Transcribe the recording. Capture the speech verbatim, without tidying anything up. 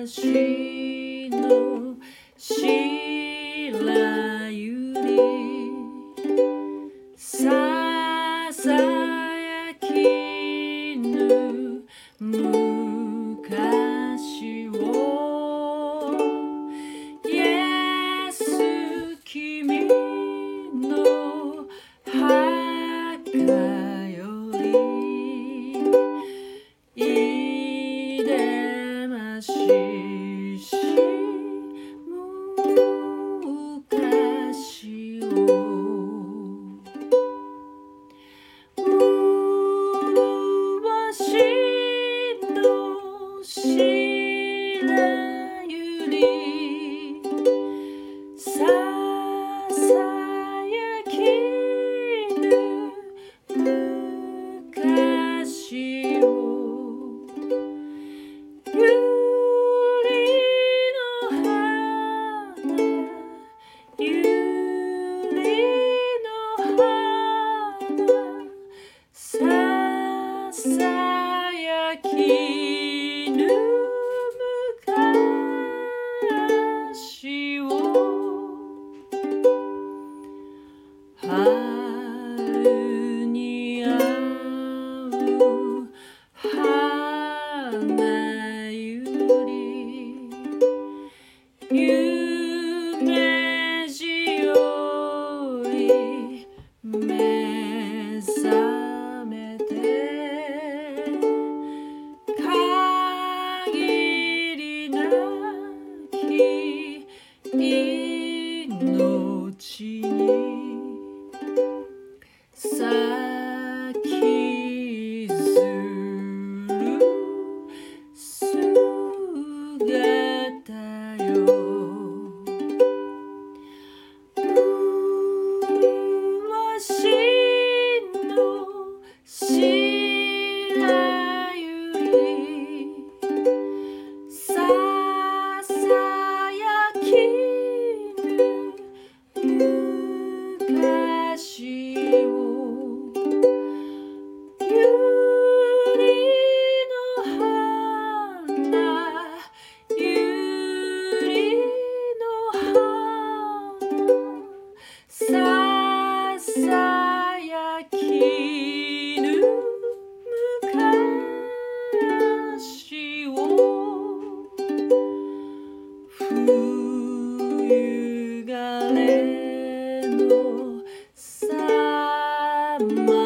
昔の白百合ささやきぬ昔をイエス君の墓よりいでましし昔を昔の白百合ささやきぬ昔をゆりの花ゆりの花ささやきぬ昔を春に会う花ゆり夢路より目覚めて限りなき命に咲きずる姿よ昔の白百合ささやきぬ昔をゆりの花ゆりの花ささやきぬ昔を冬枯れのさま